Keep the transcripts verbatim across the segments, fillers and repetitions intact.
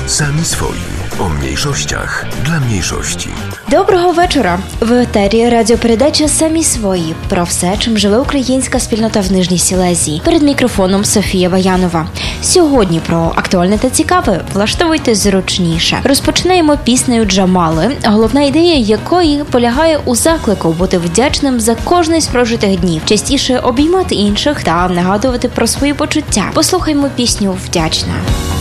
Sami swoi. O mniejszościach dla mniejszości. Доброго вечора! В етері радіопередача «Самі свої» про все, чим живе українська спільнота в Нижній Сілезії. Перед мікрофоном Софія Баянова. Сьогодні про актуальне та цікаве. Влаштовуйтесь зручніше. Розпочинаємо піснею Джамали, головна ідея якої полягає у заклику бути вдячним за кожний з прожитих днів, частіше обіймати інших та нагадувати про свої почуття. Послухаймо пісню «Вдячна».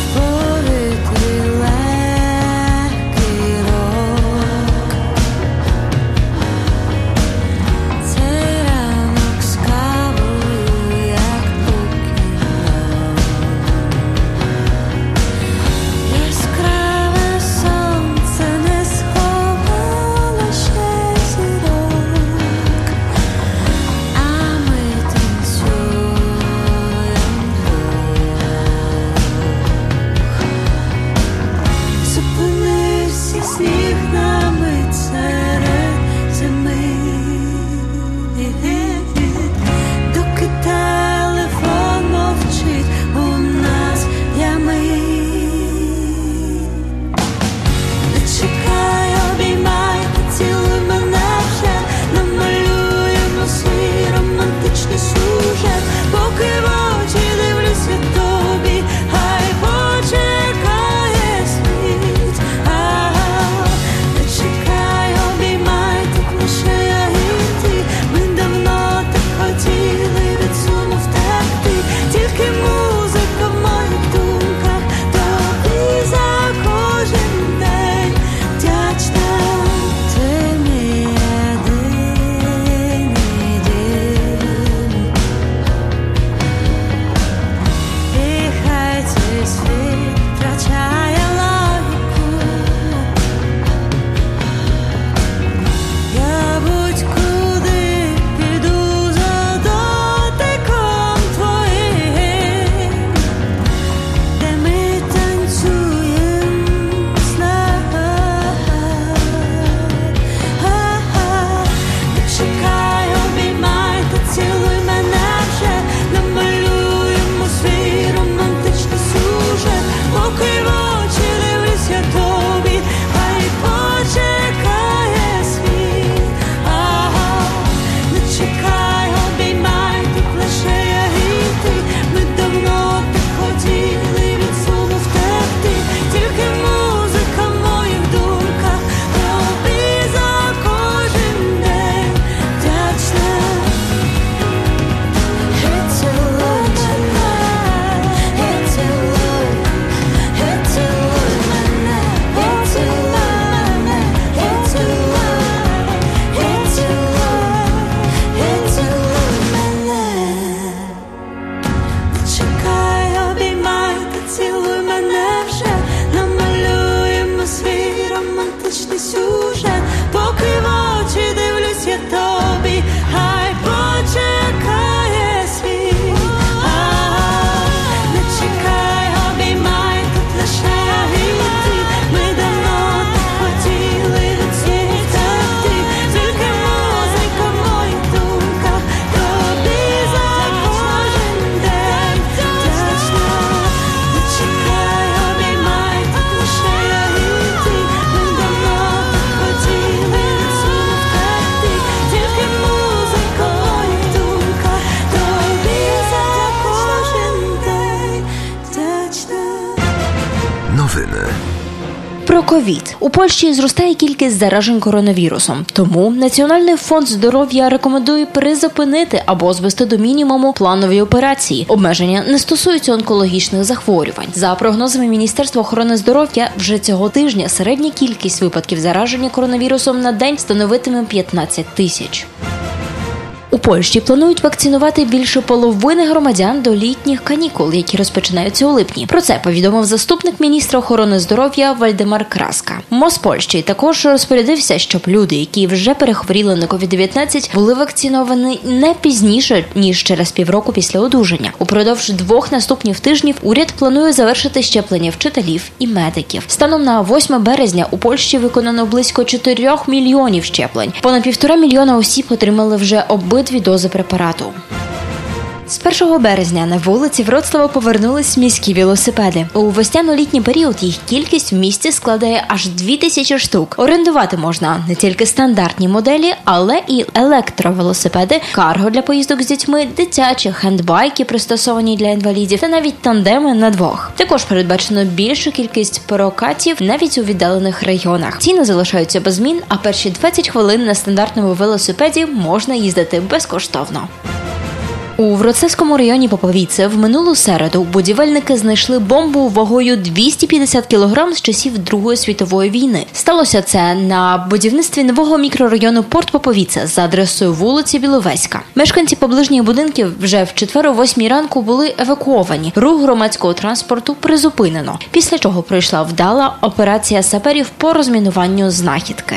Про ковід. У Польщі зростає кількість заражень коронавірусом. Тому Національний фонд здоров'я рекомендує призупинити або звести до мінімуму планові операції. Обмеження не стосуються онкологічних захворювань. За прогнозами Міністерства охорони здоров'я, вже цього тижня середня кількість випадків зараження коронавірусом на день становитиме п'ятнадцять тисяч. У Польщі планують вакцинувати більше половини громадян до літніх канікул, які розпочинаються у липні. Про це повідомив заступник міністра охорони здоров'я Вальдемар Краска. МОЗ Польщі також розпорядився, щоб люди, які вже перехворіли на ковід дев'ятнадцять, були вакциновані не пізніше, ніж через півроку після одужання. Упродовж двох наступних тижнів уряд планує завершити щеплення вчителів і медиків. Станом на восьме березня у Польщі виконано близько чотирьох мільйонів щеплень. Понад півтора мільйона осіб отримали вже обидві дози препарату. З першого березня на вулиці Вроцлава повернулись міські велосипеди. У весняно-літній період їх кількість в місті складає аж дві тисячі штук. Орендувати можна не тільки стандартні моделі, але і електровелосипеди, карго для поїздок з дітьми, дитячі, хендбайки, пристосовані для інвалідів, та навіть тандеми на двох. Також передбачено більшу кількість прокатів навіть у віддалених районах. Ціни залишаються без змін, а перші двадцять хвилин на стандартному велосипеді можна їздити безкоштовно. У Вроцлавському районі Поповіце в минулу середу будівельники знайшли бомбу вагою двісті п'ятдесят кілограм з часів Другої світової війни. Сталося це на будівництві нового мікрорайону Порт Поповіце за адресою вулиці Біловеська. Мешканці поближніх будинків вже в четвер о восьмій ранку були евакуовані. Рух громадського транспорту призупинено, після чого пройшла вдала операція саперів по розмінуванню знахідки.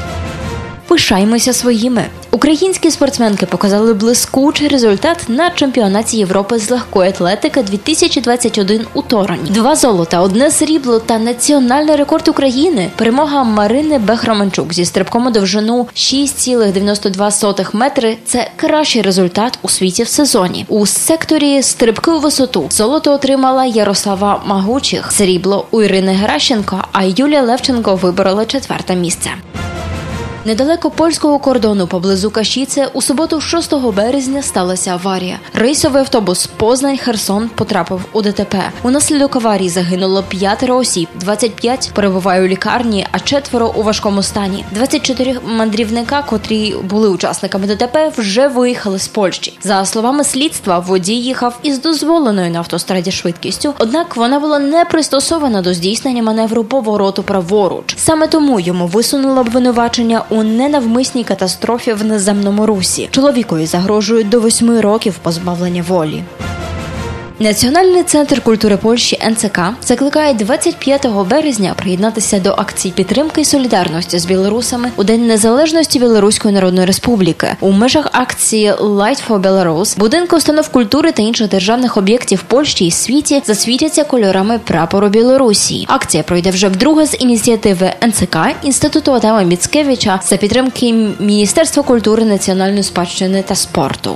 Пишаємося своїми. Українські спортсменки показали блискучий результат на чемпіонаті Європи з легкої атлетики дві тисячі двадцять один у Тороні. Два золота, одне срібло та національний рекорд України. Перемога Марини Бех-Романчук зі стрибком у довжину шість цілих дев'яносто два сотих метри – це кращий результат у світі в сезоні. У секторі стрибки у висоту золото отримала Ярослава Магучих, срібло у Ірини Геращенко, а Юлія Левченко виборола четверте місце. Недалеко польського кордону поблизу Кашіце у суботу шостого березня сталася аварія. Рейсовий автобус Познань-Херсон потрапив у ДТП. Унаслідок аварії загинуло п'ятеро осіб, двадцять п'ять перебувають у лікарні, а четверо у важкому стані. двадцять чотири мандрівника, котрі були учасниками ДТП, вже виїхали з Польщі. За словами слідства, водій їхав із дозволеною на автостраді швидкістю, однак вона була не пристосована до здійснення маневру повороту праворуч. Саме тому йому висунуло обвинувачення у ненавмисній катастрофі в наземному русі. Чоловікові загрожують до восьми років позбавлення волі. Національний центр культури Польщі ен це ка закликає двадцять п'ятого березня приєднатися до акцій підтримки і солідарності з білорусами у День Незалежності Білоруської Народної Республіки. У межах акції Light for Belarus будинки установ культури та інших державних об'єктів Польщі і світі засвітяться кольорами прапору Білорусі. Акція пройде вже вдруге з ініціативи ен це ка, Інституту Адама Міцкевича за підтримки Міністерства культури, національної спадщини та спорту.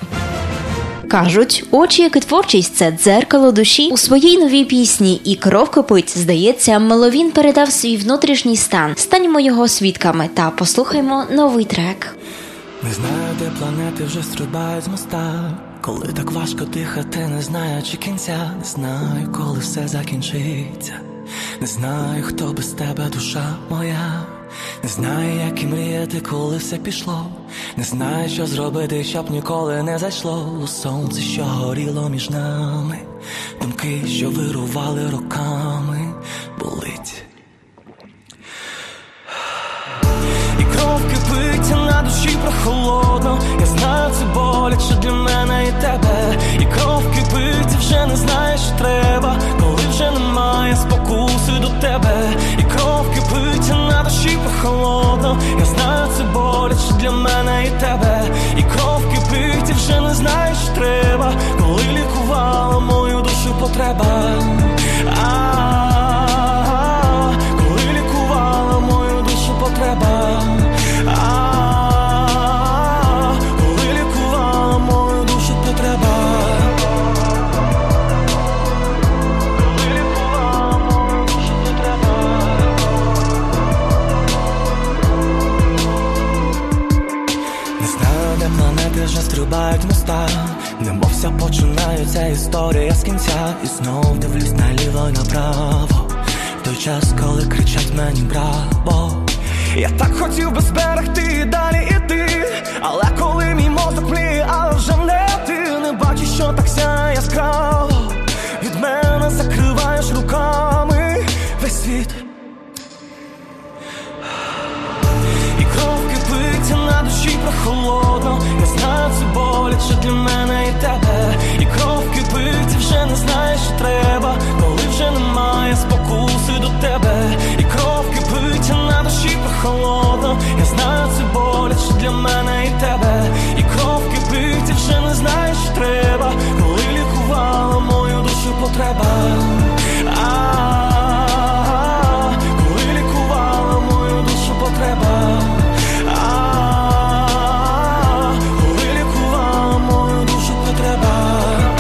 Кажуть, очі, як і творчість – це дзеркало душі. У своїй новій пісні «І кров кипить», здається, Меловін передав свій внутрішній стан. Станьмо його свідками та послухаймо новий трек. Не знаю, де планети вже стрибають з моста. Коли так важко дихати, не знаючи кінця. Не знаю, коли все закінчиться. Не знаю, хто без тебе душа моя. Не знаю, як і мріяти, коли все пішло. Не знаю, що зробити, щоб ніколи не зайшло у сонце, що горіло між нами. Думки, що вирували роками, болить. І кров кипить, на душі прохолодно. Я знаю, це боляче для мене і тебе. І кров кипить, і вже не знаєш, що треба, коли вже немає спокуси до тебе. І кров кипить, на душі прохолодно. Я знаю, це боляче для мене і тебе. І кров кипить, і вже не знаєш, що треба, коли лікувала мою душу потреба. А-а-а, коли лікувала мою душу потреба. А-а-а, коли лікувала мою душу потреба. Коли лікувала мою душу потреба. Не знаю, де планети вже стрибають моста. Немовся починається історія з кінця. І знов дивлюсь наліво й направо, в той час, коли кричать мені браво. Я так хотів би зберегти і далі іти, але коли мій мозок мліє, але вже не ти. Не бачиш, що так сяє яскраво, від мене закриваєш руками весь світ. І кров кипить, на душі прохолодно. Я знаю, це боляче для мене і тебе. І кров кипить, і вже не знаєш, що треба, коли вже немає спокуси до тебе. І кров кипить, на душі прохолодно. Я знаю, це боляче для мене і тебе. І кров кипить, і вже не знаєш, що треба, коли лікувала мою душу потреба. А-а-а, коли лікувала мою душу потреба. А-а-а, коли лікувала мою душу потреба.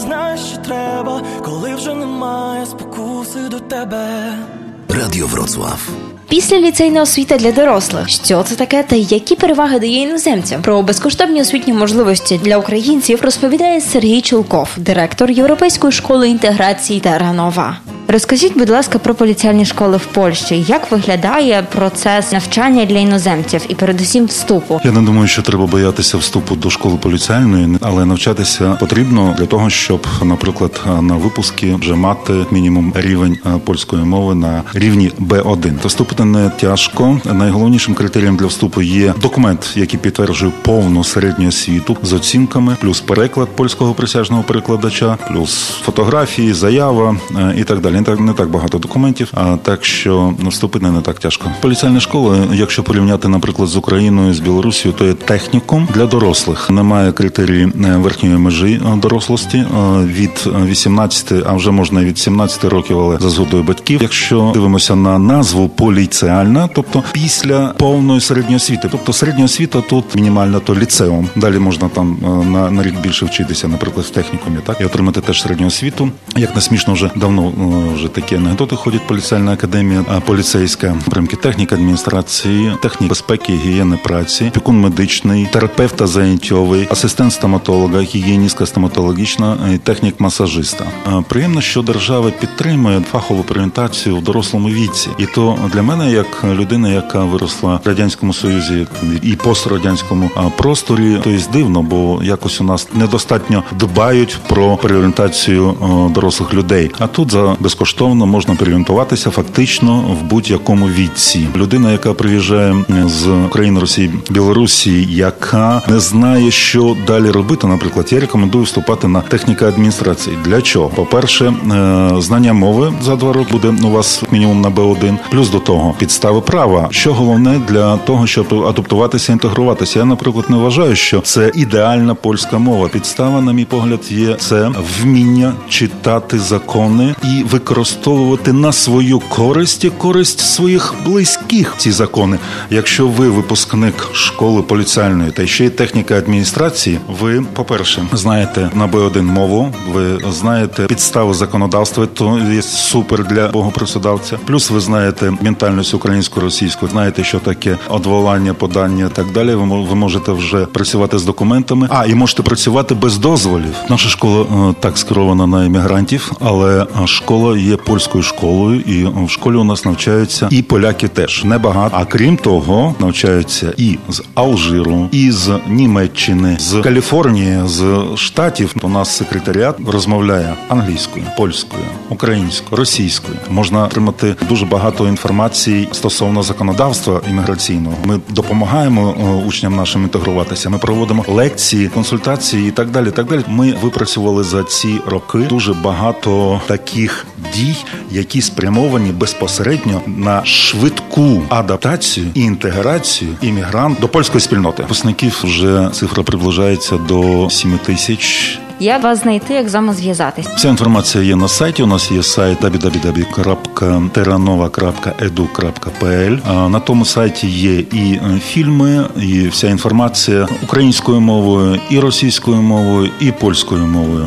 знаєш, що треба, коли вже немає спокуси до тебе. Radio Wrocław. Після ліцейна освіта для дорослих. Що це таке та які переваги дає іноземцям? Про безкоштовні освітні можливості для українців розповідає Сергій Чулков, директор Європейської школи інтеграції Терранова. Розкажіть, будь ласка, про поліціальні школи в Польщі. Як виглядає процес навчання для іноземців і передусім вступу? Я не думаю, що треба боятися вступу до школи поліціальної, але навчатися потрібно для того, щоб, наприклад, на випуски вже мати мінімум рівень польської мови на рівні бе один. То вступити не тяжко. Найголовнішим критерієм для вступу є документ, який підтверджує повну середню освіту з оцінками, плюс переклад польського присяжного перекладача, плюс фотографії, заява і так далі. Не так, не так багато документів, а так що вступити не так тяжко. Поліціальна школа, якщо порівняти, наприклад, з Україною, з Білорусією, то є технікум для дорослих. Немає критерії верхньої межі дорослості від вісімнадцяти, а вже можна і від сімнадцяти років, але за згодою батьків. Якщо дивимося на назву поліціальна, тобто після повної середньої освіти, тобто середня освіта тут мінімальна, то ліцеум. Далі можна там на, на рік більше вчитися, наприклад, в технікумі, так, і отримати теж середню освіту. Як не смішно, вже давно вже такі анекдоти ходять. Поліціальна академія, поліцейська, примки техніки адміністрації, технік безпеки, гігієни праці, опікун медичний, терапевта заняттєвий, асистент стоматолога, гігієністка стоматологічна, технік-масажиста. Приємно, що держава підтримує фахову орієнтацію в дорослому віці. І то для мене, як людина, яка виросла в Радянському Союзі і пострадянському просторі, то є дивно, бо якось у нас недостатньо дбають про переорієнтацію дорослих людей. А тут за безкоштовно можна переорієнтуватися фактично в будь-якому віці. Людина, яка приїжджає з України, Росії, Білорусі, яка не знає, що далі робити, наприклад, я рекомендую вступати на техніку адміністрації. Для чого? По-перше, знання мови за два роки буде у вас мінімум на бе один. Плюс до того, підстави права. Що головне для того, щоб адаптуватися, інтегруватися. Я, наприклад, не вважаю, що це ідеальна польська мова. Підстава, на мій погляд, є це вміння читати закони і використовувати на свою користь і користь своїх близьких ці закони. Якщо ви випускник школи поліціальної та ще й техніка адміністрації, ви, по-перше, знаєте на бе один мову, ви знаєте підстави законодавства, то є супер для богопрацедавця. Плюс ви знаєте ментальність українську, російську, знаєте, що таке одволання, подання і так далі. Ви, ви можете вже працювати з документами, а і можете працювати без дозволів. Наша школа е, так скерована на іммігрантів, але школа є польською школою, і в школі у нас навчаються і поляки теж. Небагато. А крім того, навчаються і з Алжиру, і з Німеччини, з Каліфорнії, з Штатів. У нас секретаріат розмовляє англійською, польською, українською, російською. Можна отримати дуже багато інформації стосовно законодавства імміграційного. Ми допомагаємо учням нашим інтегруватися. Ми проводимо лекції, консультації і так далі. Так далі. Ми випрацювали за ці роки дуже багато таких дій, які спрямовані безпосередньо на швидку адаптацію і інтеграцію іммігрант до польської спільноти. Випускників вже цифра приближається до сім тисяч. Як вас знайти, як з вами зв'язатись? Вся інформація є на сайті. У нас є сайт дабл ю дабл ю дабл ю крапка терранова крапка і ді ю крапка пі ел. На тому сайті є і фільми, і вся інформація українською мовою, і російською мовою, і польською мовою.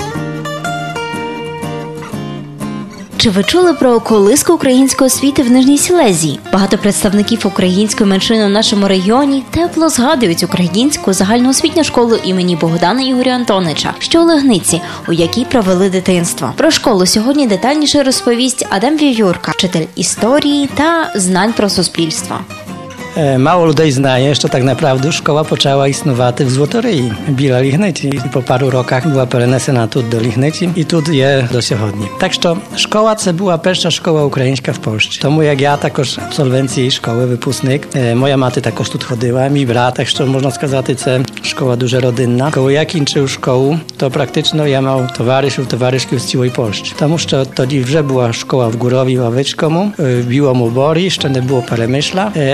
Чи ви чули про колиску української освіти в Нижній Сілезії? Багато представників української меншини у нашому регіоні тепло згадують українську загальноосвітню школу імені Богдана Ігоря Антонича, що у Легниці, у якій провели дитинство. Про школу сьогодні детальніше розповість Адам Вівюрка, вчитель історії та знань про суспільство. Mało ludzi znaje, że tak naprawdę szkoła poczęła istnować w Złotoryi, biła Lichnyci. I po paru rokach była перенесена тут до Lichnyci i тут є до сьогодні. Так що школа це була перша школа українська в Польщі. Тому як я також абсолвенції школи, випускник, моя мати також тут ходила, мій брат, так що можна сказати, це школа дуже родинна. Коли я кінчив школу, то практично я мав товаришів, товаришів з цілої Польщі. Тому що тоді вже була школа в Górowie Ławickiemu, w Biłom Uborii, jeszcze nie było Перемишля, але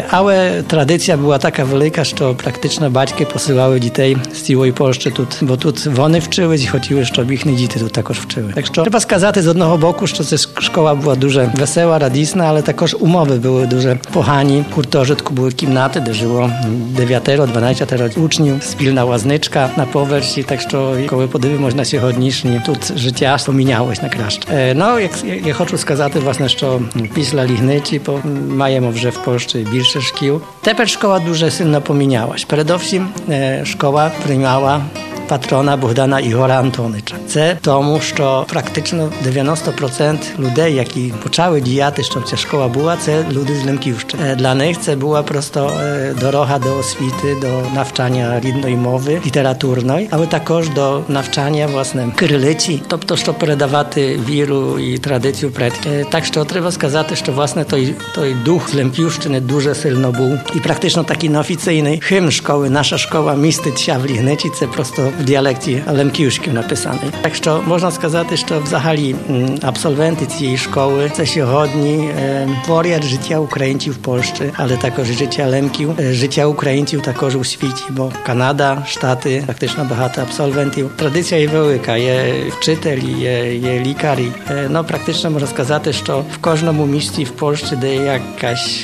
ale tradycja była taka wielka, że praktycznie батьки posyłały dzieci z całej Polski тут, bo тут вони вчились і хотіли, щоб їхні діти тут також вчили. Так що треба сказати з одного боку, що ця школа була дуже весела, радісна, але також умови були дуже погані. В гуртожитку були кімнати, де жило дев'ять-дванадцять учнів, спільна лазничка на поверсі, так що коли подивимось на сьогоднішні, тут життя помінялось на краще. Ну, як я хочу сказати, власне, що після Лігниці маємо вже в Польщі більше шкіл. Тепер школа дуже сильно помінялась. Передовсім школа приймала patrona Bohdana Igora Antonycza. Це тому, що практично дев'яносто відсотків людей, які почали діяти, щоб ця школа була, це люди з Лемківщини. Для них це була просто дорога до освіти, до навчання рідної мови, літературної, але також до навчання, власне, кирилиці, тобто, щоб передавати віру і традицію предків. Так що треба сказати, що, власне, той, той дух з Лемківщини дуже сильно був. І практично такий неофіційний химн школи, наша школа міститься в Лігниці, це просто в діалекті лемківським написаний. Так що можна сказати, що взагалі абсолвенти цієї школи це сьогодні творять життя українців в Польщі, але також життя лемків, життя українців також у світі, бо Канада, Штати, практично багато абсолвентів. Традиція є велика, є вчитель, є, є лікар. Ну, практично можна сказати, що в кожному місті в Польщі, де є якась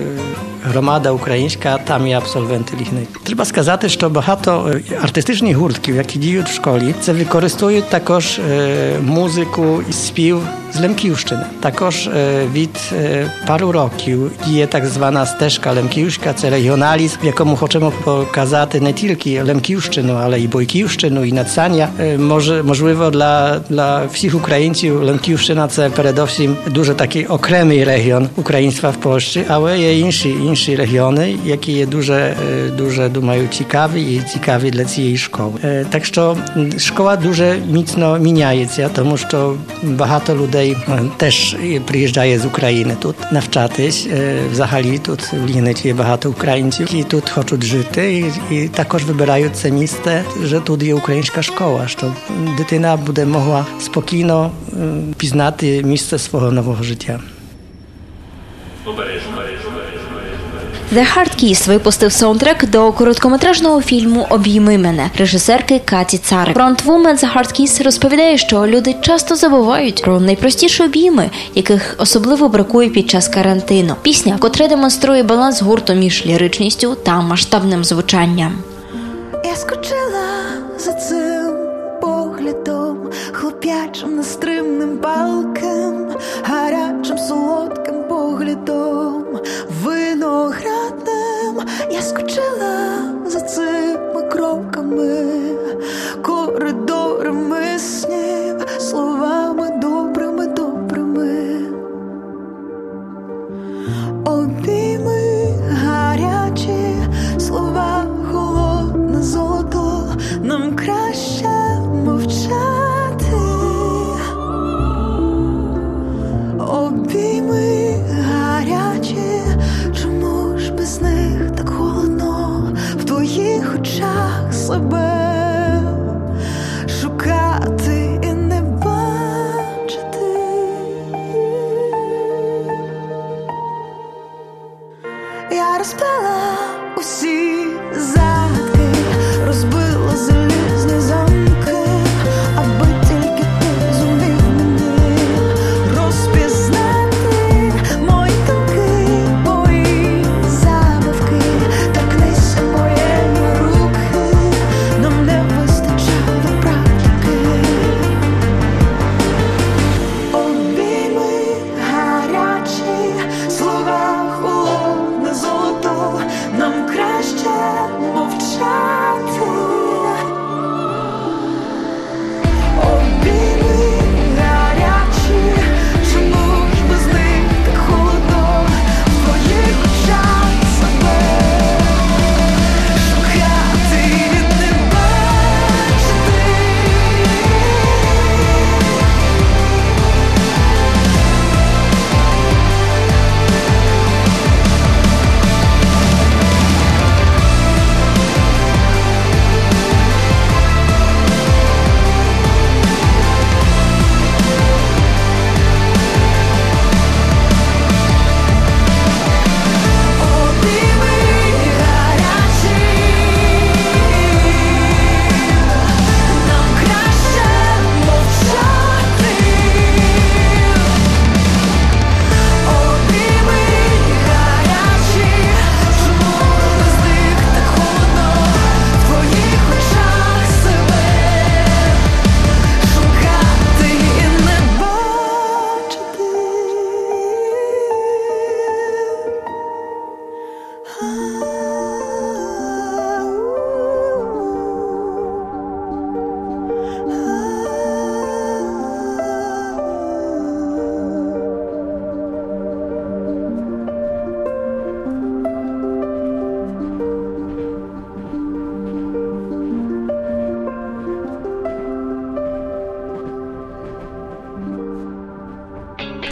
громада українська, там є абсолвенти Лігниці. Треба сказати, що багато артистичних гуртків, які діють в школі, це використовують також е, музику і спів з Лемківщини. Також е, від е, пару років діє так звана стежка лемківська, це регіоналізм, в якому хочемо показати не тільки Лемківщину, але і Бойківщину, і Надсання. Е, може, можливо, для, для всіх українців Лемківщина це передовсім дуже такий окремий регіон українства в Польщі, але є інші, інші регіони, які є дуже, дуже, думаю, цікаві і цікаві для цієї школи. Е, так що школа дуже міцно міняється, тому що багато людей теж приїжджає з України тут навчатись. Взагалі тут в Лігниці є багато українців, які тут хочуть жити і, і також вибирають це місце, що тут є українська школа, щоб дитина буде могла спокійно пізнати місце свого нового життя. The Hard Kiss випустив саундтрек до короткометражного фільму «Обійми мене» режисерки Каті Царик. Фронтвумен The Hard Kiss розповідає, що люди часто забувають про найпростіші обійми, яких особливо бракує під час карантину. Пісня, котра демонструє баланс гурту між ліричністю та масштабним звучанням. Я скучила за цим поглядом, хлоп'ячим нестримним палким, гарячим солодким поглядом, виноградним. Я скучила за цими кроками, коридорами снів, словами добрими, добрими. Обійми гарячі, слова холодне золото, нам краще мовчати. Обійми гарячі, чому ж без них так холодно в твоїх очах себе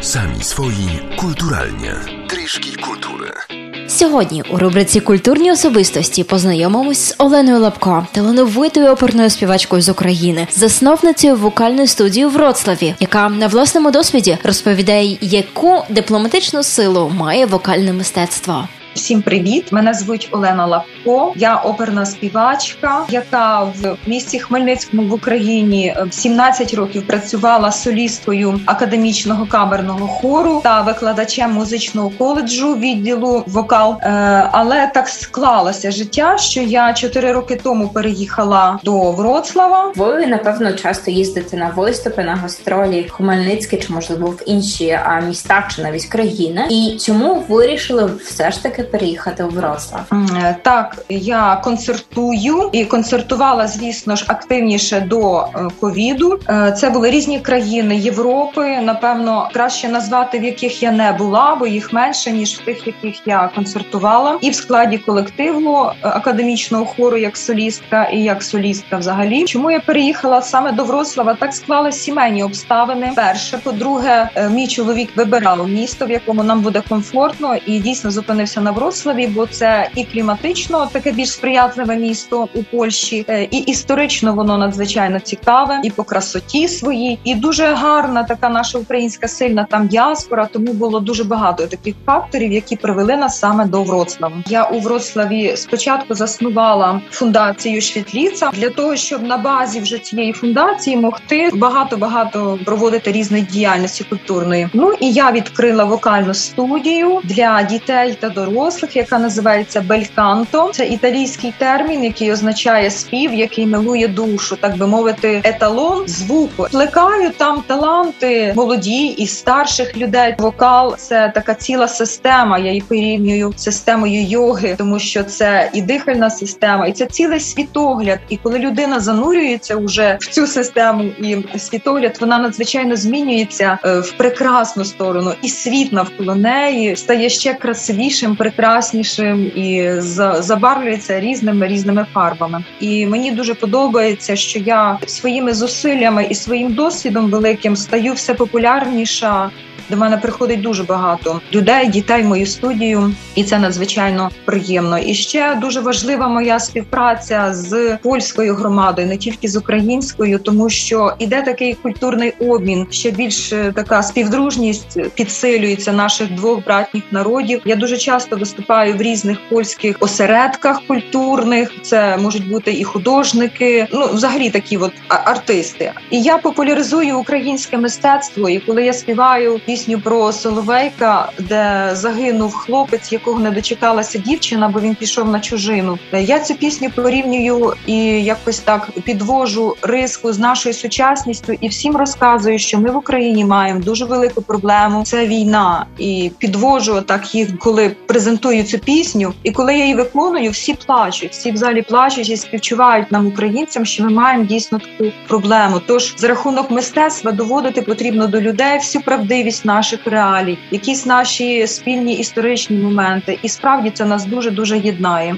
Sami swoi kulturalnie. Трішки культури. Сьогодні у рубриці «Культурні особистості» познайомимось з Оленою Лапко, талановитою оперною співачкою з України, засновницею вокальної студії у Вроцлаві, яка на власному досвіді розповідає, яку дипломатичну силу має вокальне мистецтво. Всім привіт! Мене звуть Олена Лапко. Я оперна співачка, яка в місті Хмельницькому в Україні сімнадцять років працювала солісткою академічного камерного хору та викладачем музичного коледжу відділу вокал. Але так склалося життя, що я чотири роки тому переїхала до Вроцлава. Ви, напевно, часто їздите на виступи, на гастролі в Хмельницьке чи, можливо, в інші міста чи навіть країни. І чому вирішили все ж таки переїхати у Вроцлав? Так, я концертую і концертувала, звісно ж, активніше до ковіду. Це були різні країни Європи, напевно, краще назвати, в яких я не була, бо їх менше, ніж в тих, в яких я концертувала. І в складі колективу академічного хору як солістка, і як солістка взагалі. Чому я переїхала саме до Вроцлава? Так склалися сімейні обставини. Перше, по-друге, мій чоловік вибирав місто, в якому нам буде комфортно, і дійсно зупинився на Вроцлаві, бо це і кліматично таке більш сприятливе місто у Польщі, і історично воно надзвичайно цікаве, і по красоті своїй, і дуже гарна така наша українська сильна там діаспора, тому було дуже багато таких факторів, які привели нас саме до Вроцлава. Я у Вроцлаві спочатку заснувала фундацію Швітліца для того, щоб на базі вже цієї фундації могти багато-багато проводити різної діяльності культурної. Ну і я відкрила вокальну студію для дітей та дорослих, яка називається бельканто. Це італійський термін, який означає спів, який милує душу, так би мовити, еталон звуку. Плекаю там таланти молоді і старших людей. Вокал – це така ціла система, я її порівнюю з системою йоги, тому що це і дихальна система, і це цілий світогляд. І коли людина занурюється вже в цю систему і світогляд, вона надзвичайно змінюється в прекрасну сторону. І світ навколо неї стає ще красивішим, прекраснішим і забарвлюється різними різними фарбами. І мені дуже подобається, що я своїми зусиллями і своїм досвідом великим стаю все популярніша. До мене приходить дуже багато людей, дітей в мою студію, і це надзвичайно приємно. І ще дуже важлива моя співпраця з польською громадою, не тільки з українською, тому що іде такий культурний обмін, ще більш така співдружність підсилюється наших двох братніх народів. Я дуже часто виступаю в різних польських осередках культурних, це можуть бути і художники, ну взагалі такі от артисти. І я популяризую українське мистецтво, і коли я співаю пісню про Соловейка, де загинув хлопець, якого не дочекалася дівчина, бо він пішов на чужину. Я цю пісню порівнюю і якось так підвожу риску з нашою сучасністю і всім розказую, що ми в Україні маємо дуже велику проблему – це війна. І підвожу так їх, коли презентую цю пісню, і коли я її виконую, всі плачуть, всі в залі плачуть і співчувають нам, українцям, що ми маємо дійсно таку проблему. Тож за рахунок мистецтва доводити потрібно до людей всю правдивість наших реалій, якісь наші спільні історичні моменти. І справді це нас дуже-дуже єднає.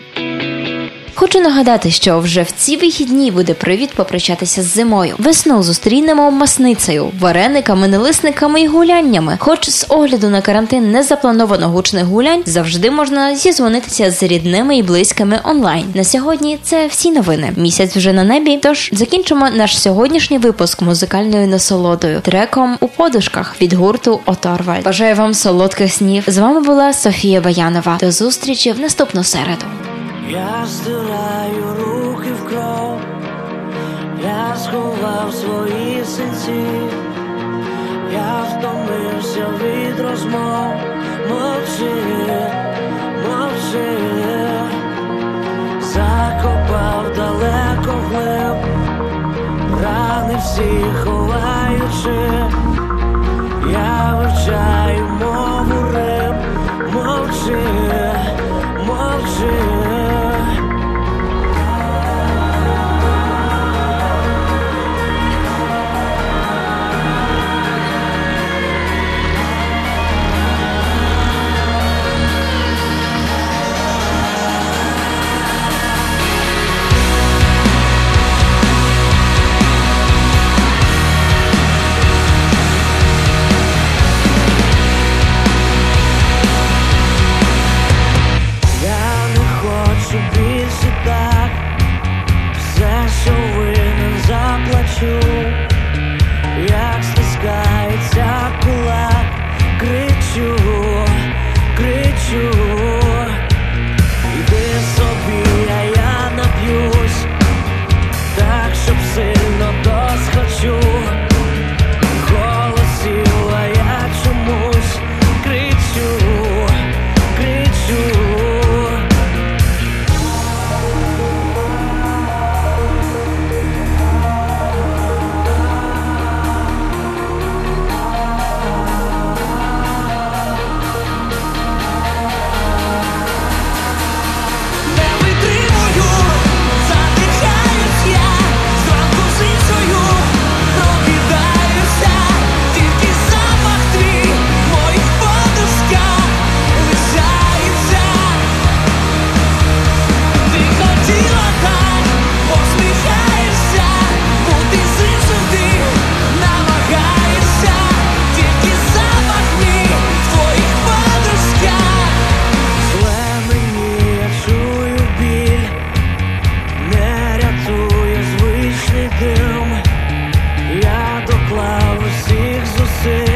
Хочу нагадати, що вже в ці вихідні буде привід попрощатися з зимою. Весну зустрінемо масницею, варениками, налисниками і гуляннями. Хоч з огляду на карантин не заплановано гучних гулянь, завжди можна зізвонитися з рідними і близькими онлайн. На сьогодні це всі новини. Місяць вже на небі, тож закінчимо наш сьогоднішній випуск музикальною насолодою. Треком «У подушках» від гурту Оторвальд. Бажаю вам солодких снів. З вами була Софія Баянова. До зустрічі в наступну середу. Я стираю руки в кров, я сховав свої синці, я втомився від розмов, мовчи, мовчи, закопав далеко глиб, рани всі ховаючи, я вивчаю мову риб, мовчи, мовчи. сил.